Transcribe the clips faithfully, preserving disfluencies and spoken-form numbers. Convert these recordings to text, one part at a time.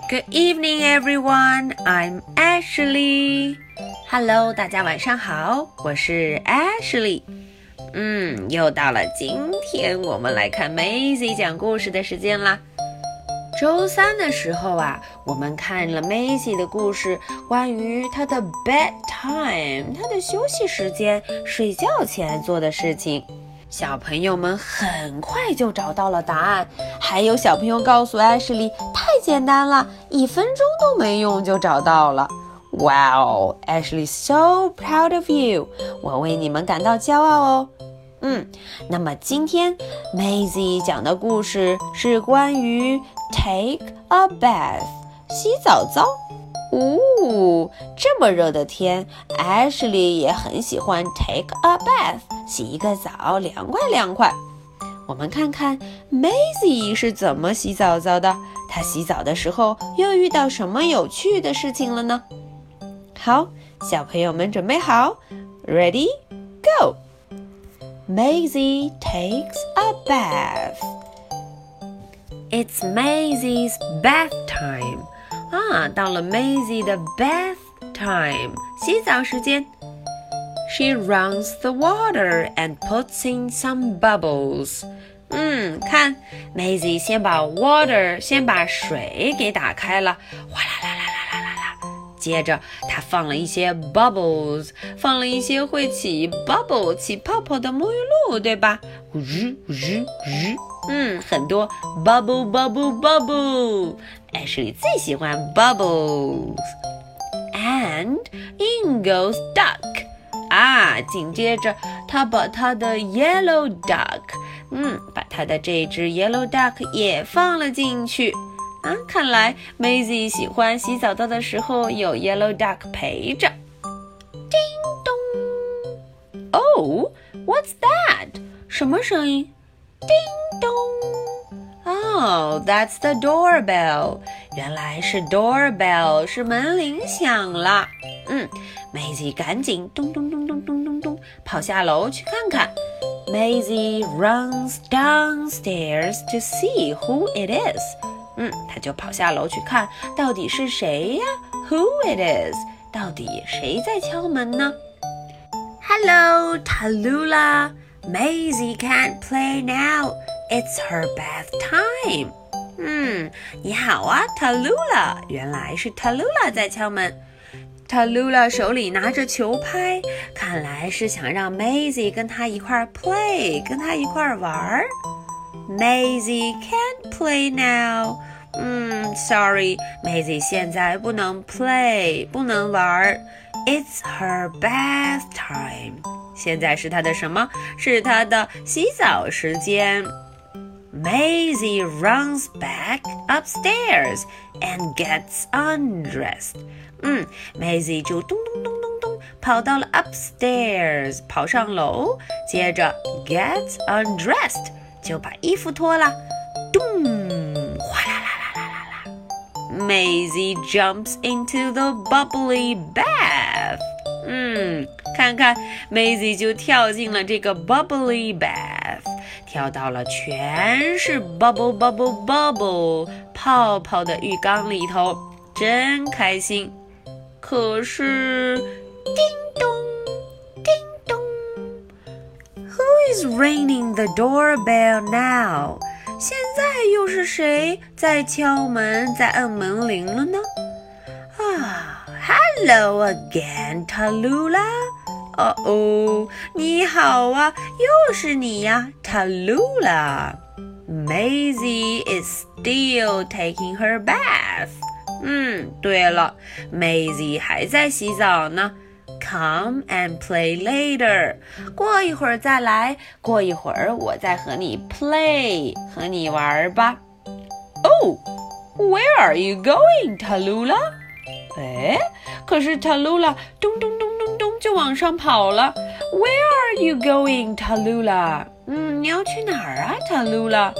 Good evening, everyone. I'm Ashley. Hello, 大家晚上好，我是 Ashley。嗯，又到了今天我们来看 Maisie 讲故事的时间啦。周三的时候啊，我们看了 Maisie 的故事，关于她的 bedtime， 她的休息时间，睡觉前做的事情。小朋友们很快就找到了答案，还有小朋友告诉 Ashley， 太简单了，一分钟都没用就找到了。Wow, Ashley, so proud of you！ 我为你们感到骄傲哦。嗯，那么今天 Maisie 讲的故事是关于 take a bath， 洗澡澡。哦，这么热的天 Ashley 也很喜欢 take a bath， 洗一个澡，凉快凉快。我们看看 Maisie 是怎么洗澡澡的，她洗澡的时候又遇到什么有趣的事情了呢？好，小朋友们准备好 Ready, go! Maisie takes a bath. It's Maisie's bath time. 啊，到了 Maisie 的 bath time， 洗澡时间。She runs the water and puts in some bubbles. 嗯，看 Maisie 先把 water 先把水给打开了，哗啦啦啦啦啦啦啦。接着她放了一些 bubbles， 放了一些会起 bubble 起泡泡的沐浴露，对吧？呜呜呜呜，嗯，很多 bubble bubble bubble。Ashley 最喜欢 bubbles。 And in goes duck。 啊，紧接着她把她的 yellow duck， 嗯，把她的这只 yellow duck 也放了进去。啊，看来 Maisie 喜欢洗澡澡的时候有 yellow duck 陪着。叮咚 Oh, what's that？ 什么声音？叮咚。Oh, that's the doorbell. 原来是 doorbell， 是门铃响了。嗯 Maisie 赶紧咚咚咚咚咚咚咚跑下楼去看看。Maisie runs downstairs to see who it is. 嗯，她就跑下楼去看到底是谁呀 ？Who it is？ 到底谁在敲门呢？ Hello, Tallulah. Maisie can't play now.It's her bath time. 嗯，你好啊 Tallulah， 原来是 Tallulah 在敲门。Tallulah 手里拿着球拍，看来是想让 Maisie 跟她一块 play， 跟她一块玩。Maisie can't play now. 嗯 ，sorry， Maisie 现在不能 play， 不能玩。It's her bath time. 现在是她的什么？是她的洗澡时间。Maisie runs back upstairs and gets undressed. 嗯 Maisie 就咚咚咚咚咚跑到了 upstairs， 跑上楼，接着 gets undressed 就把衣服脱了，咚，哗啦啦啦啦啦啦。Maisie jumps into the bubbly bath. 嗯，看看 Maisie 就跳进了这个 bubbly bath， 跳到了全是 bubble bubble bubble 泡泡的浴缸里头，真开心。可是叮咚叮咚 Who is ringing the doorbell now？ 现在又是谁在敲门，在按门铃了呢？啊 Hello again, Tallulah。 哦哦，你好啊，又是你呀 Tallulah。 Maisie is still taking her bath。 嗯，对了 Maisie 还在洗澡呢。 Come and play later。 过一会儿再来，过一会儿我再和你 play， 和你玩吧。 Oh, where are you going, Tallulah？哎，可是 Tallulah 咚咚咚咚咚就往上跑了。 Where are you going, Tallulah？ 嗯，你要去哪儿啊 Tallulah？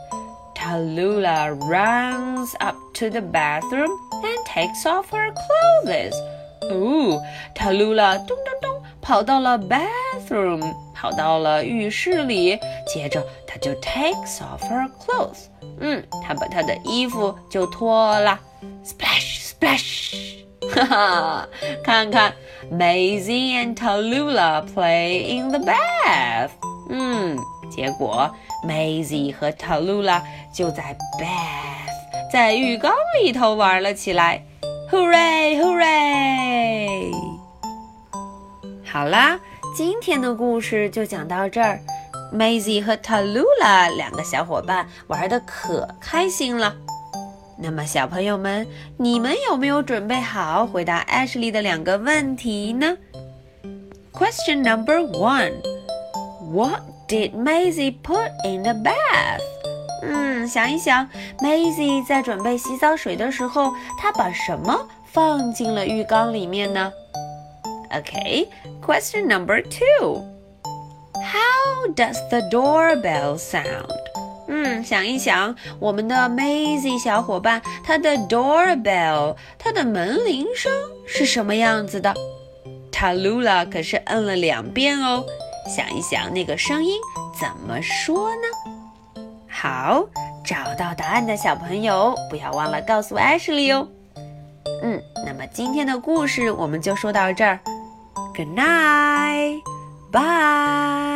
Tallulah runs up to the bathroom and takes off her clothes. 哦 Tallulah 咚咚咚跑到了 bathroom， 跑到了浴室里，接着她就 takes off her clothes。嗯，她把她的衣服就脱了。Splash, splash！ 哈哈，看看 Maisie and Tallulah play in the bath。嗯，结果 Maisie 和 Tallulah 就在 bath， 在浴缸里头玩了起来。Hooray, hooray！ 好啦，今天的故事就讲到这儿。Maisie 和 Tallulah 两个小伙伴玩得可开心了。那么小朋友们，你们有没有准备好回答 Ashley 的两个问题呢？ Question number one. What did Maisie put in the bath? 嗯，想一想 Maisie 在准备洗澡水的时候，她把什么放进了浴缸里面呢？ Okay, question number two. How does the doorbell sound? 嗯，想一想，我们的 Maisie 小伙伴，她的 doorbell， 她的门铃声是什么样子的？ Tallulah 可是摁了两遍哦，想一想那个声音怎么说呢？好，找到答案的小朋友，不要忘了告诉 Ashley 哦。嗯，那么今天的故事我们就说到这儿。Good night, bye.